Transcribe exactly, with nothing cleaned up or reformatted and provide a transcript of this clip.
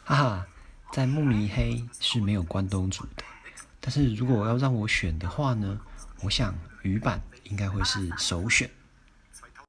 哈哈，在慕尼黑是没有关东煮的，但是如果要让我选的话呢，我想鱼板应该会是首选。